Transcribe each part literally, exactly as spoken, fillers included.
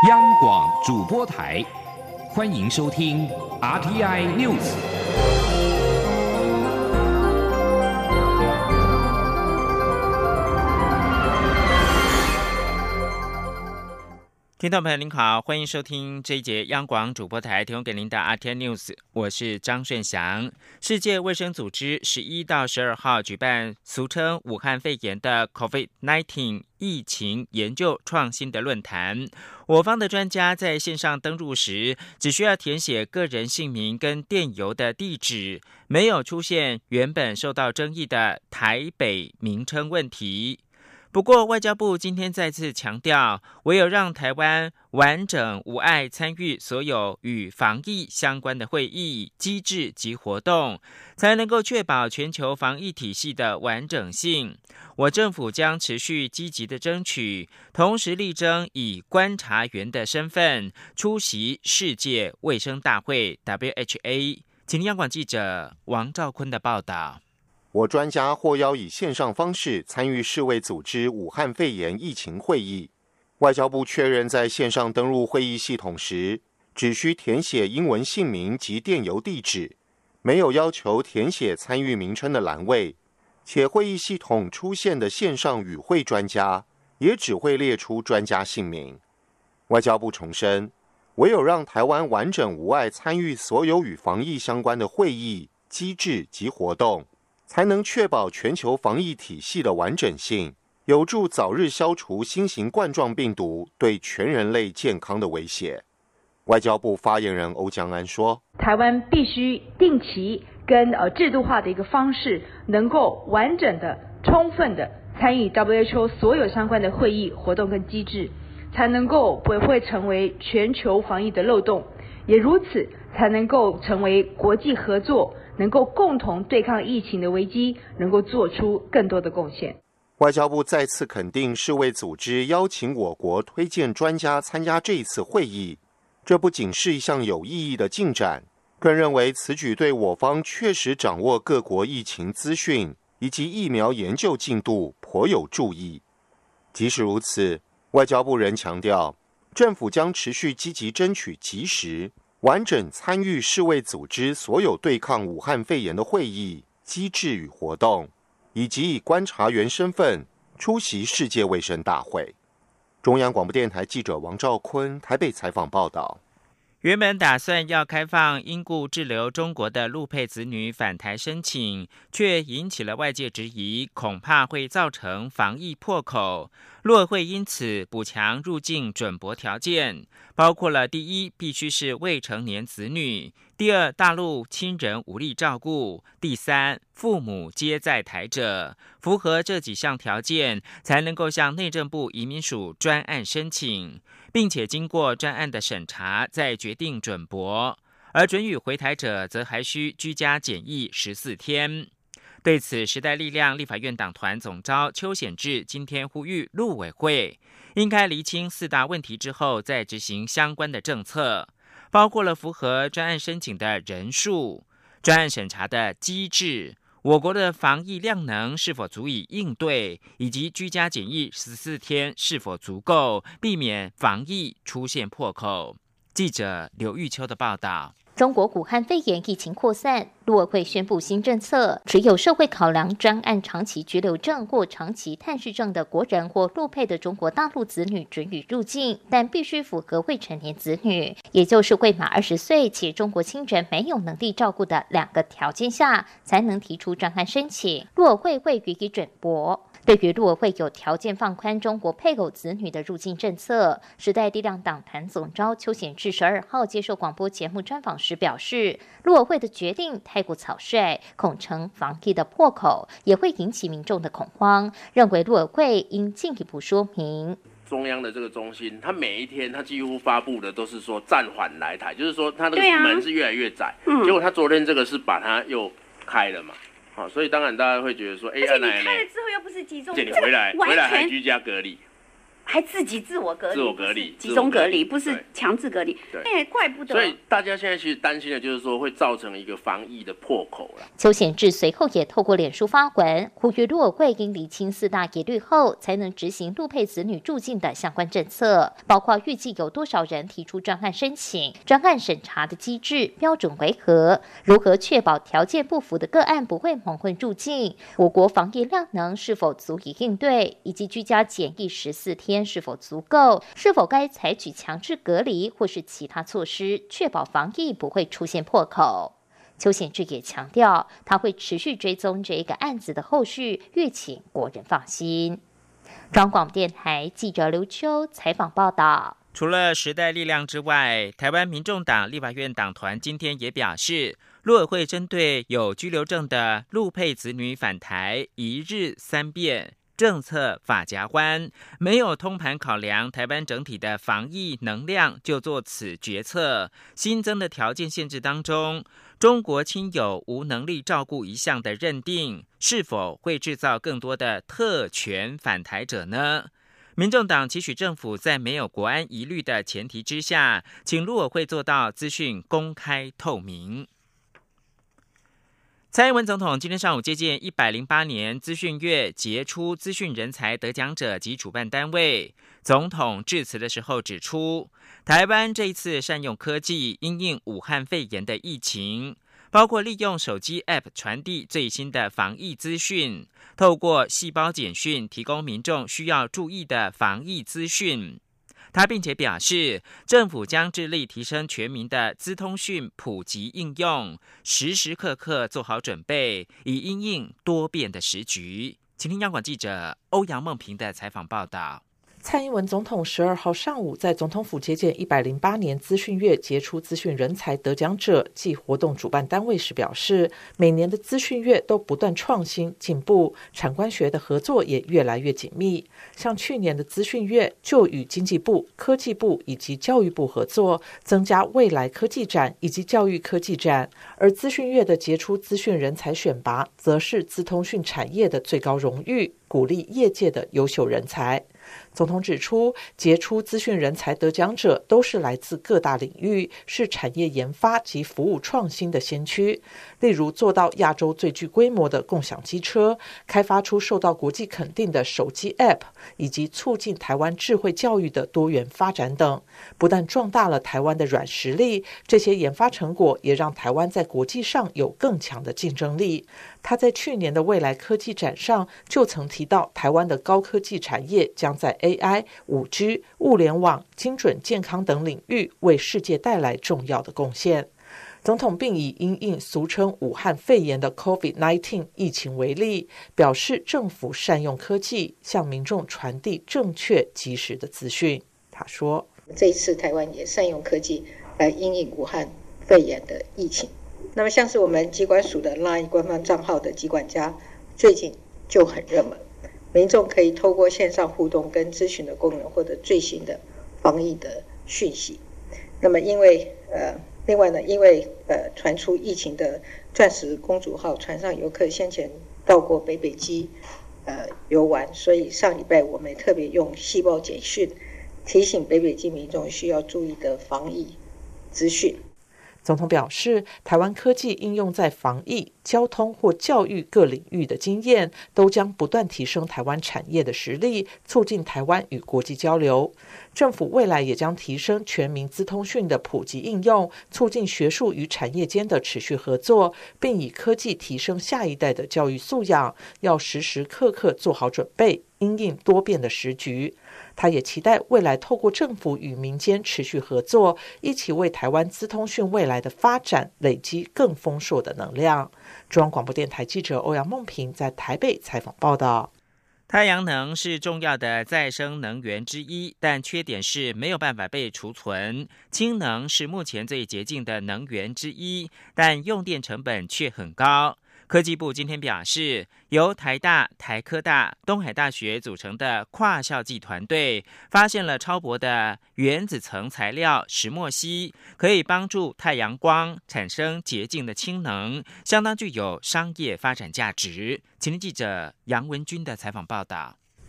央广主播台，欢迎收听 R T I News。 听众朋友您好，欢迎收听这一节央广主播台提供给您的 R T I News， 我是张顺祥。世界卫生组织十一到十二号举办俗称武汉肺炎的 COVID 十九 疫情研究创新的论坛。我方的专家在线上登入时，只需要填写个人姓名跟电邮的地址，没有出现原本受到争议的台北名称问题。不过，外交部今天再次强调，唯有让台湾完整无碍参与所有与防疫相关的会议、机制及活动，才能够确保全球防疫体系的完整性。我政府将持续积极的争取，同时力争以观察员的身份出席世界卫生大会 W H A。请听央广记者王兆坤的报道。 我专家获邀以线上方式参与世卫组织武汉肺炎疫情会议。外交部确认，在线上登入会议系统时，只需填写英文姓名及电邮地址，没有要求填写参与名称的栏位，且会议系统出现的线上与会专家也只会列出专家姓名。外交部重申，唯有让台湾完整无碍参与所有与防疫相关的会议、机制及活动，才能确保全球防疫体系的完整性，有助早日消除新型冠状病毒对全人类健康的威胁。外交部发言人欧江安说， 台湾必须定期跟呃制度化的一个方式，能够完整的、充分的参与 W H O 所有相关的会议、活动跟机制，才能够不会成为全球防疫的漏洞，也如此才能够成为国际合作，能够共同对抗疫情的危机，能够做出更多的贡献。 外交部再次肯定世卫组织邀请我国推荐专家参加这一次会议，这不仅是一项有意义的进展，更认为此举对我方确实掌握各国疫情资讯以及疫苗研究进度颇有助益。即使如此，外交部仍强调，政府将持续积极争取及时完整参与世卫组织所有对抗武汉肺炎的会议、机制与活动，以及以观察员身份出席世界卫生大会。中央广播电台记者王兆坤台北采访报道。 原本打算要开放因故滞留中国的陆配子女返台申请，却引起了外界质疑，恐怕会造成防疫破口。陆委会因此补强入境准驳条件，包括了第一，必须是未成年子女；第二，大陆亲人无力照顾；第三，父母皆在台者。符合这几项条件，才能够向内政部移民署专案申请，并且经过专案的审查，再决定准驳。而准予回台者，则还需居家检疫十四天。对此，时代力量立法院党团总召邱显智今天呼吁陆委会应该厘清四大问题之后，再执行相关的政策，包括了符合专案申请的人数、专案审查的机制、我国的防疫量能是否足以应对，以及居家检疫十四天是否足够，避免防疫出现破口。记者刘玉秋的报道。 中国武汉肺炎疫情扩散，陆委会宣布新政策，只有社会考量专案长期居留证或长期探视证的国人或陆配的中国大陆子女准予入境，但必须符合未成年子女，也就是未满二十岁且中国亲人没有能力照顾的两个条件下，才能提出专案申请，陆委会会予以准驳。对于陆委会有条件放宽中国配偶子女的入境政策，时代力量党团总召邱显智十二号接受广播节目专访时表示，陆委会的决定太过草率，恐成防疫的破口，也会引起民众的恐慌，认为陆委会应进一步说明。 中央的这个中心，它每一天它几乎发布的都是说暂缓来台，就是说它那个门是越来越窄，嗯、结果它昨天这个是把它又开了嘛。好，所以当然大家会觉得说，哎， 而且你开了之后又不是集中， 你回来回来还居家隔离， 还自己自我隔离， 自我隔离， 集中隔离，不是强制隔离。哎，怪不得。 所以大家现在其实担心的就是说会造成一个防疫的破口了。 邱显智随后也透过脸书发文，呼吁陆委会应厘清四大疑虑后，才能执行陆配子女入境的相关政策，包括预计有多少人提出专案申请、专案审查的机制标准为何、如何确保条件不符的个案不会蒙混入境、我国防疫量能是否足以应对，以及居家检疫十四天是否足够，是否该采取强制隔离或是其他措施，确保防疫不会出现破口。邱显智也强调，他会持续追踪这一个案子的后续，欲请国人放心。中广电台记者刘秋采访报道。 除了时代力量之外，台湾民众党立法院党团今天也表示，陆委会针对有居留证的陆配子女返台一日三变政策法夹弯，没有通盘考量台湾整体的防疫能量就做此决策。新增的条件限制当中，中国亲友无能力照顾一项的认定，是否会制造更多的特权返台者呢？民众党期许政府在没有国安疑虑的前提之下，请陆委会做到资讯公开透明。蔡英文总统今天上午接见一百零八年资讯月杰出资讯人才得奖者及主办单位。总统致辞的时候指出，台湾这一次善用科技因应武汉肺炎的疫情，包括利用手机 App 传递最新的防疫资讯，透过细胞简讯提供民众需要注意的防疫资讯。他并且表示，政府将致力提升全民的资通讯普及应用，时时刻刻做好准备，以因应多变的时局。请听央广记者欧阳梦平的采访报道。 蔡英文总统十二号上午在总统府接见一百零八年资讯月杰出资讯人才得奖者暨活动主办单位时表示，每年的资讯月都不断创新进步，产官学的合作也越来越紧密。像去年的资讯月就与经济部、科技部以及教育部合作，增加未来科技展以及教育科技展，而资讯月的杰出资讯人才选拔则是资通讯产业的最高荣誉，鼓励业界的优秀人才。总统指出，杰出资讯人才得奖者都是来自各大领域，是产业研发及服务创新的先驱。例如做到亚洲最具规模的共享机车，开发出受到国际肯定的手机 App， 以及促进台湾智慧教育的多元发展等，不但壮大了台湾的软实力，这些研发成果也让台湾在国际上有更强的竞争力。他在去年的未来科技展上就曾提到，台湾的高科技产业将在 A I、五 G、物联网、精准健康等领域为世界带来重要的贡献。总统并以因应俗称武汉肺炎的 COVID 十九 疫情为例，表示政府善用科技向民众传递正确及时的资讯。他说， 这一次台湾也善用科技来因应武汉肺炎的疫情。那么像是我们疾管署的 LINE 官方账号的疾管家最近就很热门，民众可以透过线上互动跟咨询的功能获得最新的防疫的讯息。那么因为呃另外呢，因为呃传出疫情的钻石公主号船上游客先前到过北北基呃游玩，所以上礼拜我们特别用细胞简讯提醒北北基民众需要注意的防疫资讯。 总统表示，台湾科技应用在防疫、交通或教育各领域的经验，都将不断提升台湾产业的实力，促进台湾与国际交流。政府未来也将提升全民资通讯的普及应用，促进学术与产业间的持续合作，并以科技提升下一代的教育素养，要时时刻刻做好准备，因应多变的时局。他也期待未来透过政府与民间持续合作，一起为台湾资通讯未来的发展累积更丰硕的能量。中央广播电台记者欧阳梦平在台北采访报道。 太阳能是重要的再生能源之一，但缺点是没有办法被储存。氢能是目前最洁净的能源之一，但用电成本却很高。科技部今天表示，由台大、台科大、东海大学组成的跨校际团队发现了超薄的原子层材料石墨烯，可以帮助太阳光产生洁净的氢能，相当具有商业发展价值。请听记者杨文君的采访报道。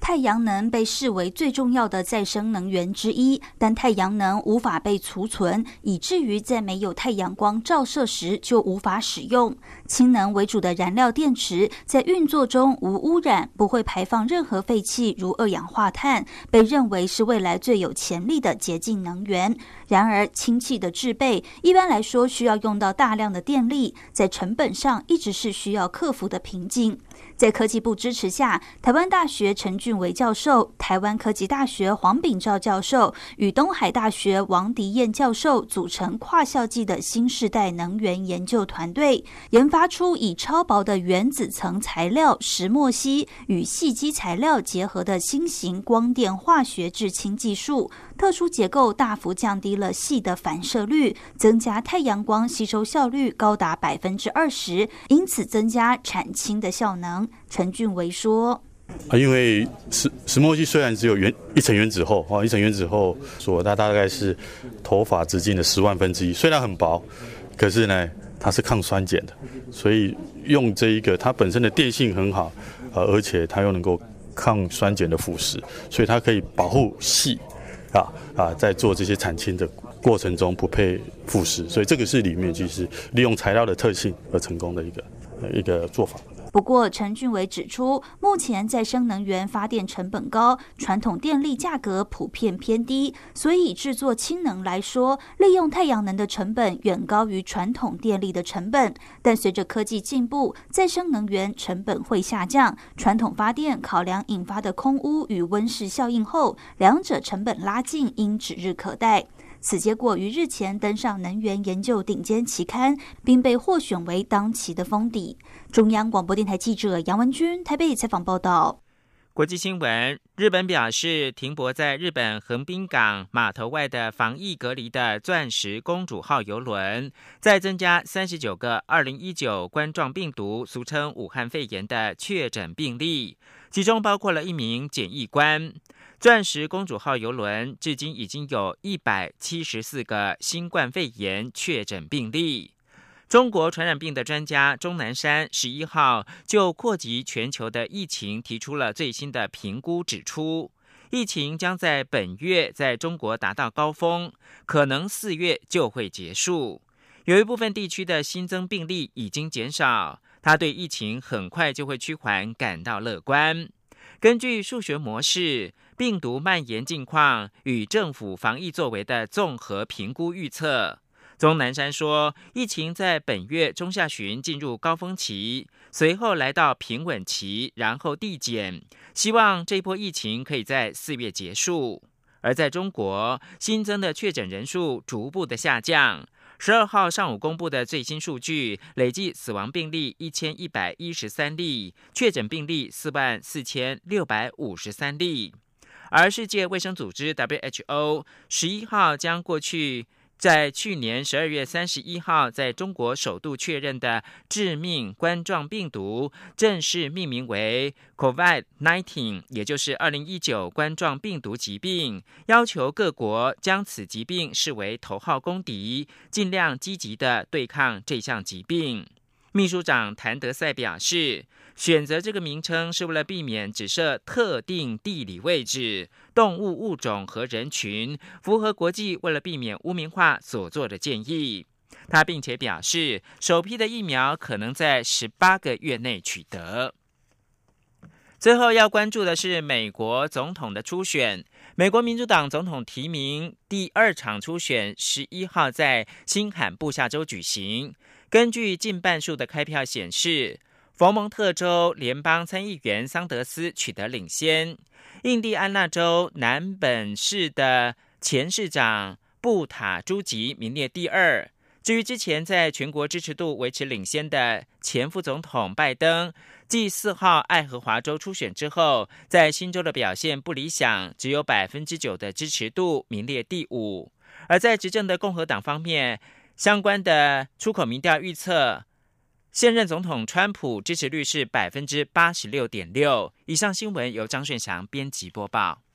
太阳能被视为最重要的再生能源之一，但太阳能无法被储存，以至于在没有太阳光照射时就无法使用。氢能为主的燃料电池在运作中无污染，不会排放任何废气如二氧化碳，被认为是未来最有潜力的洁净能源。然而，氢气的制备一般来说需要用到大量的电力，在成本上一直是需要克服的瓶颈。在科技部支持下，台湾大学陈俊维教授、台湾科技大学黄秉照教授与东海大学王迪燕教授组成跨校际的新世代能源研究团队，研发出以超薄的原子层材料石墨烯与细基材料结合的新型光电化学制氢技术。特殊结构大幅降低了矽的反射率，增加太阳光吸收效率高达百分之二十，因此增加产氢的效能。陈俊维说：“ 啊，因为石石墨烯虽然只有原一层原子厚啊，一层原子厚所它大概是头发直径的十万分之一，虽然很薄，可是呢，它是抗酸碱的，所以用这一个它本身的电性很好，呃，而且它又能够抗酸碱的腐蚀，所以它可以保护矽。”啊啊，在做这些产氢的过程中不被腐蚀，所以这个是里面就是利用材料的特性而成功的一个一个做法。 不过，陈俊维指出，目前再生能源发电成本高，传统电力价格普遍偏低，所以制作氢能来说，利用太阳能的成本远高于传统电力的成本。但随着科技进步，再生能源成本会下降，传统发电考量引发的空污与温室效应后，两者成本拉近，应指日可待。此结果于日前登上能源研究顶尖期刊，并被获选为当期的封底。中央广播电台记者杨文君台北采访报道。 国际新闻：日本表示，停泊在日本横滨港码头外的防疫隔离的钻石公主号邮轮，再增加三十九个二零一九冠状病毒，俗称武汉肺炎的确诊病例，其中包括了一名检疫官。钻石公主号邮轮至今已经有一百七十四个新冠肺炎确诊病例。中国传染病的专家钟南山十一号就扩及全球的疫情提出了最新的评估，指出疫情将在本月在中国达到高峰，可能四月就会结束。有一部分地区的新增病例已经减少，他对疫情很快就会趋缓感到乐观。根据数学模式，病毒蔓延境况与政府防疫作为的综合评估预测，钟南山说，疫情在本月中下旬进入高峰期，随后来到平稳期，然后递减，希望这波疫情可以在四月结束。而在中国，新增的确诊人数逐步的下降。十二号上午公布的最新数据，累计死亡病例一千一百一十三例，确诊病例四万四千六百五十三例。而世界卫生组织 W H O 十一号将过去在去年十二月三十一号在中国首度确认的致命冠状病毒正式命名为 COVID 十九， 也就是二零一九冠状病毒疾病，要求各国将此疾病视为头号公敌，尽量积极的对抗这项疾病。秘书长谭德赛表示，选择这个名称是为了避免只设特定地理位置、动物物种和人群，符合国际为了避免污名化所做的建议。他并且表示，首批的疫苗可能在十八个月内取得。最后要关注的是美国总统的初选。美国民主党总统提名第二场初选十一号在新罕布夏州举行。根据近半数的开票显示，佛蒙特州联邦参议员桑德斯取得领先，印第安纳州南本市的前市长布塔朱吉名列第二。至于之前在全国支持度维持领先的前副总统拜登，继四号爱荷华州初选之后，在新州的表现不理想，只有 百分之九 的支持度，名列第五。而在执政的共和党方面，相关的出口民调预测，现任总统川普支持率是 百分之八十六点六。 以上新闻由张顺祥编辑播报。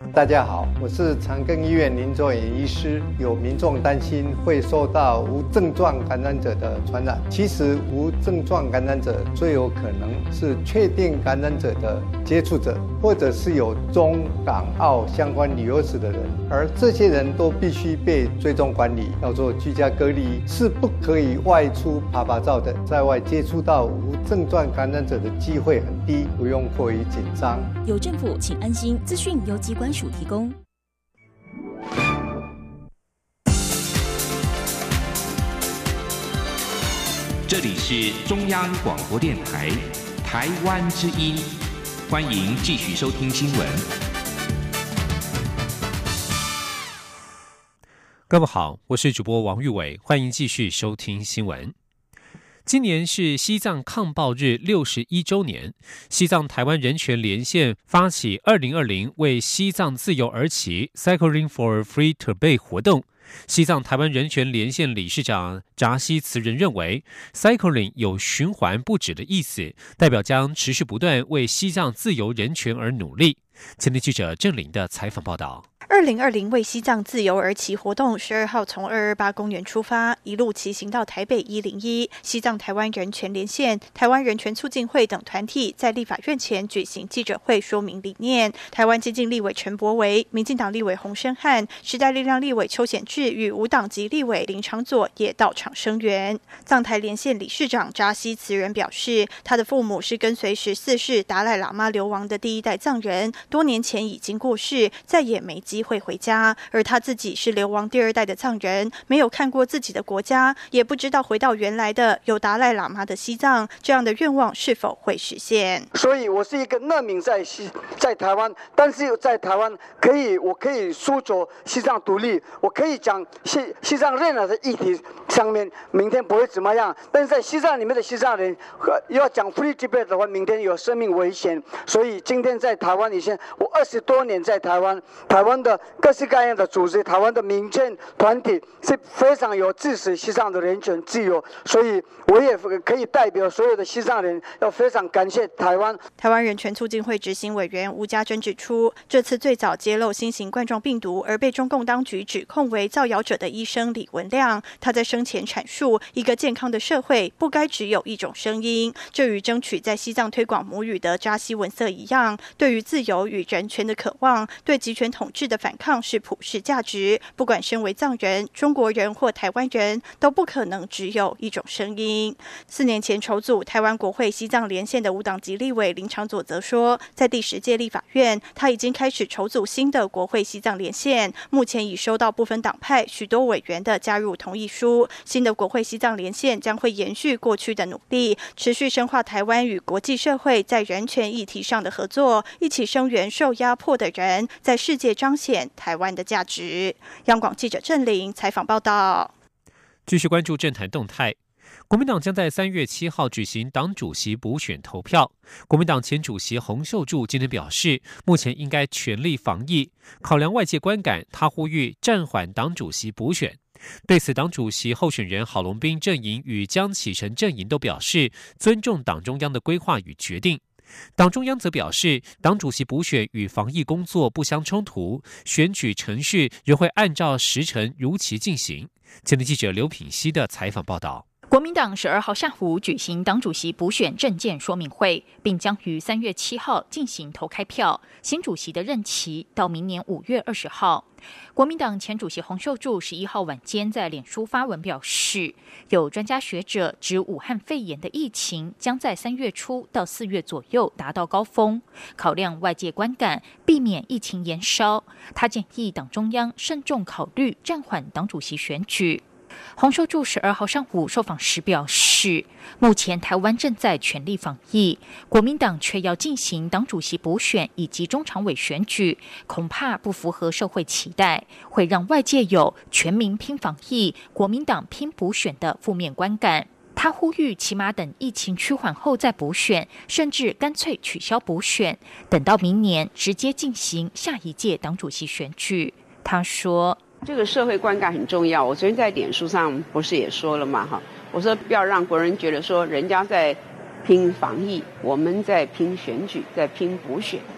大家好，我是长庚医院林卓衍医师。有民众担心会受到无症状感染者的传染，其实无症状感染者最有可能是确定感染者的接触者，或者是有中港澳相关旅游史的人，而这些人都必须被追踪管理，要做居家隔离，是不可以外出趴趴照的。在外接触到无症状感染者的机会很低，不用过于紧张。 有政府，请安心。资讯由疾管署提供。 这里是中央广播电台台湾之音，欢迎继续收听新闻。 各位好，我是主播王玉伟，欢迎继续收听新闻。今年是西藏抗暴日六十一周年，西藏台湾人权连线发起二零二零为西藏自由而起 Cycling for Free Tibet 活动。西藏台湾人权连线理事长扎西慈仁认为 Cycling 有循环不止的意思，代表将持续不断为西藏自由人权而努力。前天记者郑玲的采访报道。 二零二零为西藏自由而起活动十二号从二二八公园出发，一路骑行到台北一零一。西藏台湾人权连线、台湾人权促进会等团体在立法院前举行记者会，说明理念。台湾基进立委陈柏惟、民进党立委洪申翰、时代力量立委邱显智与无党籍立委林长佐也到场声援。藏台连线理事长扎西慈仁表示，他的父母是跟随十四世达赖喇嘛流亡的第一代藏人，多年前已经过世，再也没机会回家，而他自己是流亡第二代的藏人，没有看过自己的国家，也不知道回到原来的有达赖喇嘛的西藏，这样的愿望是否会实现。 所以我是一个难民在西在台湾，但是在台湾可以我可以诉求西藏独立，我可以讲西西藏任何的议题上面明天不会怎么样，但是在西藏里面的西藏人要讲 Free Tibet 的话，明天有生命危险。所以今天在台湾以前，我二十多年在台湾，台湾的各式各样的组织，台湾的民间团体是非常有支持西藏的人权自由，所以我也可以代表所有的西藏人，要非常感谢台湾。 台湾人权促进会执行委员吴家珍指出，这次最早揭露新型冠状病毒而被中共当局指控为造谣者的医生李文亮，他在生前阐述，一个健康的社会不该只有一种声音，这与争取在西藏推广母语的扎西文色一样，对于自由与人权的渴望，对集权统治的反抗是普世价值，不管身为藏人、中国人或台湾人，都不可能只有一种声音。四年前筹组台湾国会西藏连线的无党籍立委林长佐则说，在第十届立法院，他已经开始筹组新的国会西藏连线，目前已收到部分党派许多委员的加入同意书。新的国会西藏连线将会延续过去的努力，持续深化台湾与国际社会在人权议题上的合作，一起声援受压迫的人，在世界彰显台湾的价值。央广记者郑玲采访报道。 继续关注政坛动态，国民党将在三月七号举行党主席补选投票。国民党前主席洪秀柱今天表示，目前应该全力防疫，考量外界观感，他呼吁暂缓党主席补选。对此，党主席候选人郝龙斌阵营与江启臣阵营都表示尊重党中央的规划与决定。党中央则表示，党主席补选与防疫工作不相冲突，选举程序仍会按照时程如期进行。前天记者刘品希的采访报道。 国民党十二号下午举行党主席补选政见说明会，并将于三月七号进行投开票，新主席的任期到明年五月二十号。国民党前主席洪秀柱十一号晚间在脸书发文表示，有专家学者指武汉肺炎的疫情将在三月初到四月左右达到高峰，考量外界观感，避免疫情延烧，他建议党中央慎重考虑暂缓党主席选举。洪秀柱十二号上午受访时表示，目前台湾正在全力防疫，国民党却要进行党主席补选以及中常委选举，恐怕不符合社会期待，会让外界有全民拼防疫、国民党拼补选的负面观感。他呼吁起码等疫情趋缓后再补选，甚至干脆取消补选，等到明年直接进行下一届党主席选举。他说， 这个社会观感很重要，我昨天在脸书上不是也说了嘛，哈，我说不要让国人觉得说人家在拼防疫，我们在拼选举，在拼补选。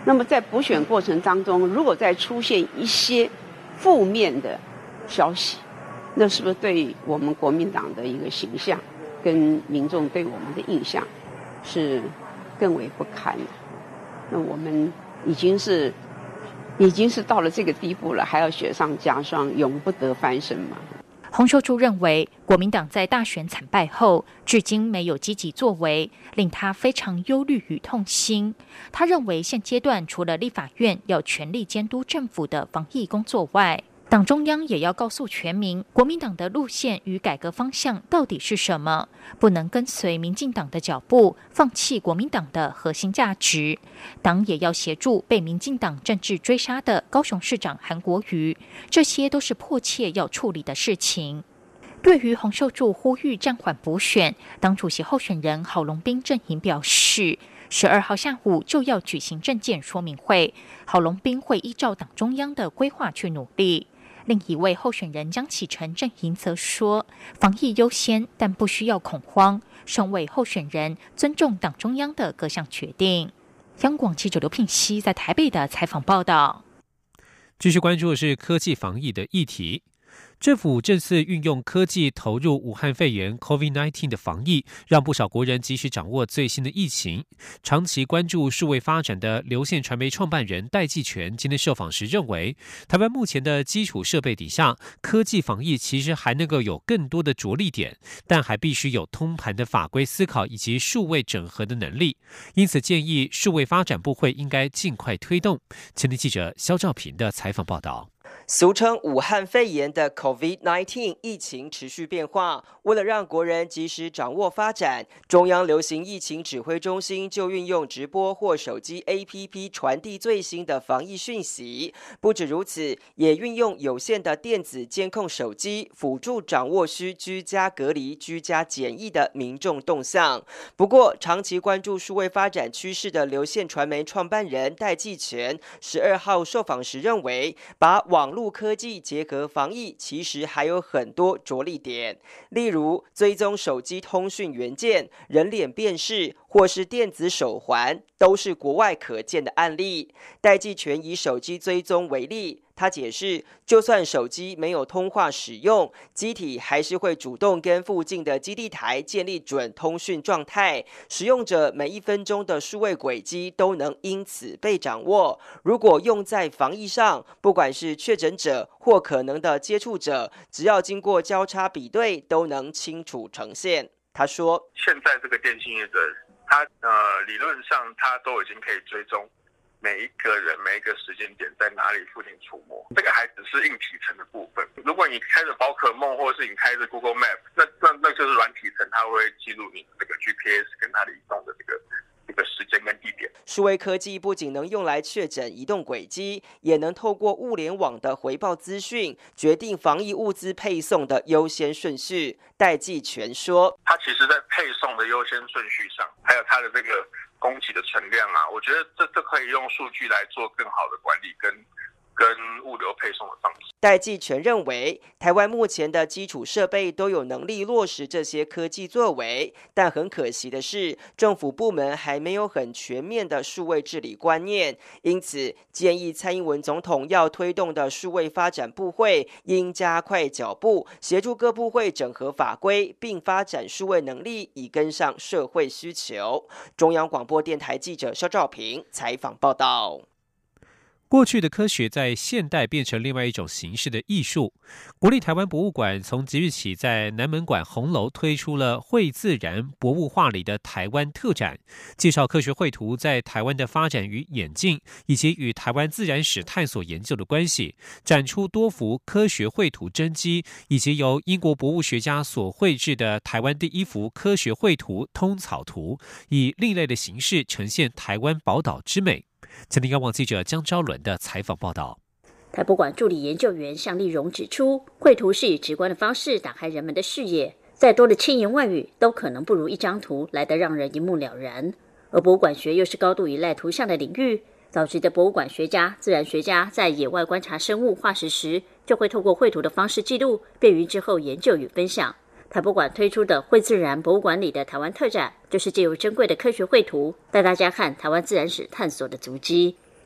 那么在补选过程当中，如果再出现一些负面的消息，那是不是对我们国民党的一个形象跟民众对我们的印象是更为不堪的？那我们已经是已经是到了这个地步了，还要雪上加霜，永不得翻身吗？ 洪秀柱认为，国民党在大选惨败后，至今没有积极作为，令他非常忧虑与痛心。他认为，现阶段除了立法院要全力监督政府的防疫工作外，党中央也要告诉全民，国民党的路线与改革方向到底是什么，不能跟随民进党的脚步，放弃国民党的核心价值。党也要协助被民进党政治追杀的高雄市长韩国瑜，这些都是迫切要处理的事情。对于洪秀柱呼吁暂缓补选，党主席候选人郝龙斌阵营表示，十二号下午就要举行政见说明会，郝龙斌会依照党中央的规划去努力。另一位候选人江启臣阵营则说，防疫优先，但不需要恐慌，身为候选人尊重党中央的各项决定。央广记者刘聘熙在台北的采访报道。 继续关注的是科技防疫的议题。政府这次运用科技投入武汉肺炎 COVID 十九 的防疫，让不少国人及时掌握最新的疫情。长期关注数位发展的流线传媒创办人戴季全今天受访时认为，台湾目前的基础设备底下，科技防疫其实还能够有更多的着力点，但还必须有通盘的法规思考以及数位整合的能力。因此建议数位发展部会应该尽快推动。前天记者肖兆平的采访报道。 俗称武汉肺炎的 COVID 十九 疫情持续变化，为了让国人及时掌握发展，中央流行疫情指挥中心就运用直播或手机 A P P 传递最新的防疫讯息。不止如此，也运用有线的电子监控手机，辅助掌握需居家隔离、居家检疫的民众动向。不过，长期关注数位发展趋势的流线传媒创办人戴季全十二号受访时认为，把网路科技结合防疫，其实还有很多着力点，例如追踪手机通讯元件、人脸辨识或是电子手环，都是国外可见的案例。戴季全以手机追踪为例，他解释，就算手机没有通话使用，机体还是会主动跟附近的基地台建立准通讯状态，使用者每一分钟的数位轨迹都能因此被掌握。如果用在防疫上，不管是确诊者或可能的接触者，只要经过交叉比对，都能清楚呈现。他说， 现在这个电信业者，他呃理论上他都已经可以追踪每一个人每一个时间点在哪里附近出没，这个还只是硬体层的部分。如果你开着宝可梦，或者是你开着 Google Map， 那那那就是软体层，它会记录你这个 G P S 跟它的移动的这个这个时间跟地点。 数位科技不仅能用来确诊移动轨迹，也能透过物联网的回报资讯，决定防疫物资配送的优先顺序。戴季全说， 它其实在配送的优先顺序上，还有它的这个供给的存量啊，我觉得这这可以用数据来做更好的管理跟跟物流配送的方式。 戴季全认为，台湾目前的基础设备都有能力落实这些科技作为，但很可惜的是，政府部门还没有很全面的数位治理观念，因此建议蔡英文总统要推动的数位发展部会应加快脚步，协助各部会整合法规，并发展数位能力，以跟上社会需求。中央广播电台记者肖兆平采访报道。 过去的科学在现代变成另外一种形式的艺术。国立台湾博物馆从即日起在南门馆红楼推出了绘自然博物画里的台湾特展，介绍科学绘图在台湾的发展与演进，以及与台湾自然史探索研究的关系，展出多幅科学绘图真迹，以及由英国博物学家所绘制的台湾第一幅科学绘图通草图，以另类的形式呈现台湾宝岛之美。前天央广记者江昭伦的采访报道。 台博馆助理研究员向丽蓉指出，绘图是以直观的方式打开人们的视野，再多的千言万语都可能不如一张图来得让人一目了然。而博物馆学又是高度依赖图像的领域，早期的博物馆学家、自然学家在野外观察生物化石时，就会透过绘图的方式记录，便于之后研究与分享。台博馆推出的绘自然博物馆里的台湾特展，就是借由珍贵的科学绘图，带大家看台湾自然史探索的足迹。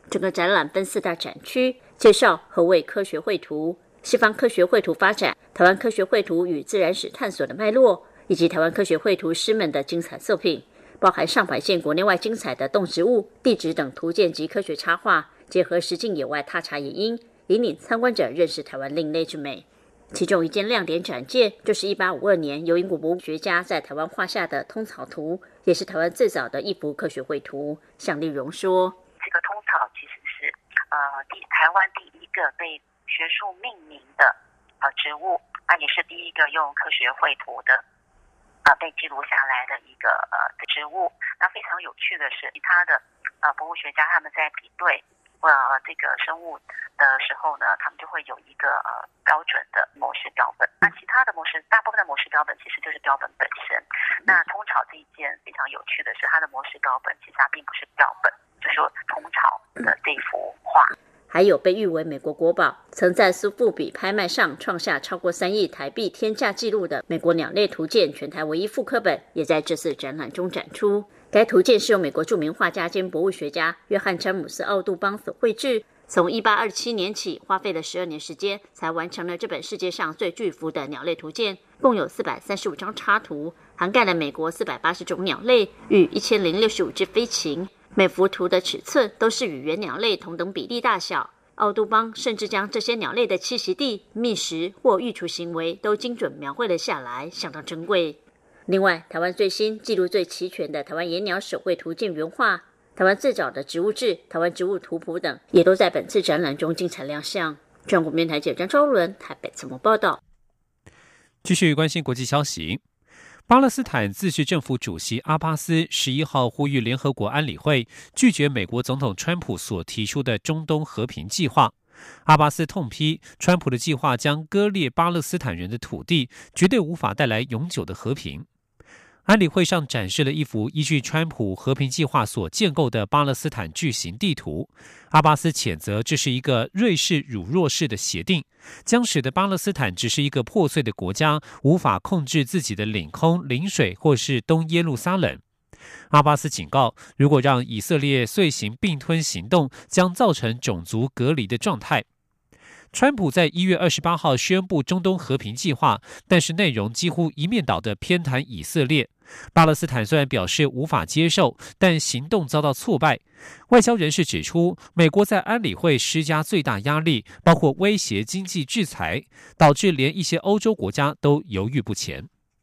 整个展览分四大展区，介绍何谓科学绘图、西方科学绘图发展、台湾科学绘图与自然史探索的脉络，以及台湾科学绘图师们的精彩作品，包含上百件国内外精彩的动植物、地质等图鉴及科学插画，结合实境野外踏查野鹰，引领参观者认识台湾另类之美。其中一件亮点展件就是一八五二年由英国博物学家在台湾画下的通草图，也是台湾最早的一幅科学绘图。向丽蓉说， 这个通草其实是呃第台湾第一个被学术命名的呃植物，那也是第一个用科学绘图的呃被记录下来的一个呃植物。那非常有趣的是，其他的呃博物学家他们在比对呃这个生物的时候呢，他们就会有一个呃标准的模式标本。那其他的模式，大部分的模式标本其实就是标本本身。那通草这一件非常有趣的是，它的模式标本其实它并不是标本，就是说通草的这幅画。 还有被誉为美国国宝，曾在苏富比拍卖上创下超过三亿台币天价纪录的美国鸟类图鉴全台唯一复刻本，也在这次展览中展出。该图鉴是由美国著名画家兼博物学家约翰·詹姆斯·奥杜邦所绘制，从一八二七年起花费了十二年时间，才完成了这本世界上最巨幅的鸟类图鉴，共有四百三十五张插图，涵盖了美国四百八十种鸟类与一千零六十五只飞禽。每幅图的尺寸都是与原鸟类同等比例大小，奥杜邦甚至将这些鸟类的栖息地、觅食或育雏行为都精准描绘了下来，相当珍贵。另外，台湾最新、记录最齐全的台湾野鸟手绘图鉴原画、台湾最早的植物志、台湾植物图谱等，也都在本次展览中精彩亮相。中国电台记者张昭伦台北采访报道。 继续关心国际消息。巴勒斯坦自治政府主席阿巴斯十一号呼吁联合国安理会拒绝美国总统川普所提出的中东和平计划。阿巴斯痛批川普的计划将割裂巴勒斯坦人的土地，绝对无法带来永久的和平。安理会上展示了一幅依据川普和平计划所建构的巴勒斯坦巨型地图。阿巴斯谴责这是一个瑞士辱弱式的协定，将使得巴勒斯坦只是一个破碎的国家，无法控制自己的领空、领水或是东耶路撒冷。阿巴斯警告，如果让以色列遂行并吞行动，将造成种族隔离的状态。川普在一月二十八号宣布中东和平计划，但是内容几乎一面倒的偏袒以色列。巴勒斯坦虽然表示无法接受，但行动遭到挫败。外交人士指出，美国在安理会施加最大压力，包括威胁经济制裁，导致连一些欧洲国家都犹豫不前。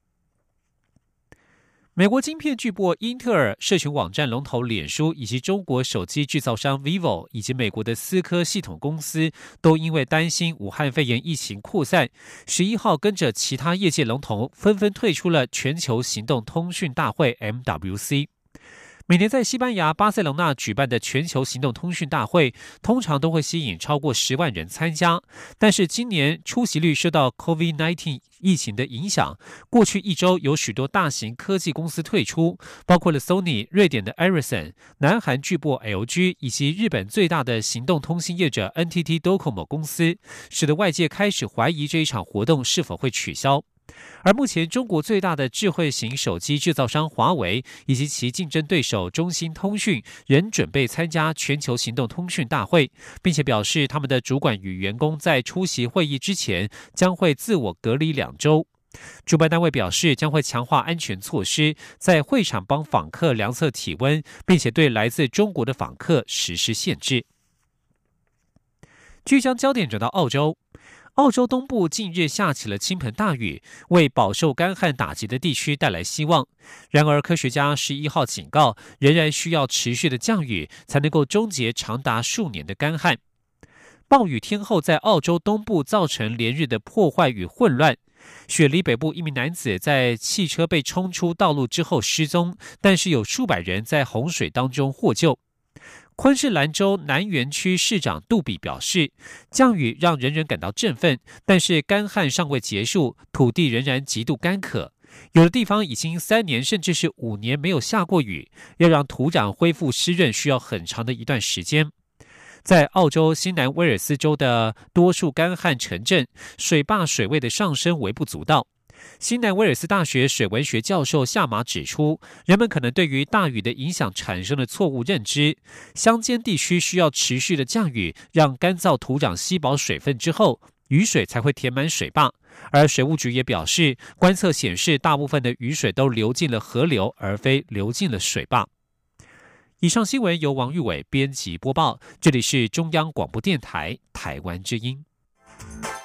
美国晶片巨擘英特尔、社群网站龙头脸书以及中国手机制造商 vivo 以及美国的思科系统公司，都因为担心武汉肺炎疫情扩散，十一号跟着其他业界龙头纷纷退出了全球行动通讯大会 M W C。每年在西班牙巴塞隆纳举办的全球行动通讯大会，通常都会吸引超过十万人参加。但是今年出席率受到 COVID 十九 疫情的影响，过去一周有许多大型科技公司退出，包括了 Sony、瑞典的 Ericsson、南韩巨擘 L G 以及日本最大的行动通信业者 N T T Docomo 公司，使得外界开始怀疑这一场活动是否会取消。而目前中国最大的智慧型手机制造商华为以及其竞争对手中兴通讯仍准备参加全球行动通讯大会，并且表示他们的主管与员工在出席会议之前将会自我隔离两周。主办单位表示将会强化安全措施，在会场帮访客量测体温，并且对来自中国的访客实施限制。继续将焦点转到澳洲。澳洲东部近日下起了倾盆大雨，为饱受干旱打击的地区带来希望。然而，科学家十一号警告，仍然需要持续的降雨才能够终结长达数年的干旱。暴雨天后在澳洲东部造成连日的破坏与混乱。雪梨北部一名男子在汽车被冲出道路之后失踪，但是有数百人在洪水当中获救。昆士兰州南园区市长杜比表示，降雨让人人感到振奋，但是干旱尚未结束，土地仍然极度干渴。有的地方已经三年甚至是五年没有下过雨，要让土壤恢复湿润需要很长的一段时间。在澳洲新南威尔斯州的多数干旱城镇，水坝水位的上升微不足道。 新南威尔斯大学水文学教授夏马指出，人们可能对于大雨的影响产生了错误认知。乡间地区需要持续的降雨，让干燥土壤吸饱水分之后，雨水才会填满水坝。而水务局也表示，观测显示大部分的雨水都流进了河流，而非流进了水坝。以上新闻由王玉伟编辑播报，这里是中央广播电台台湾之音。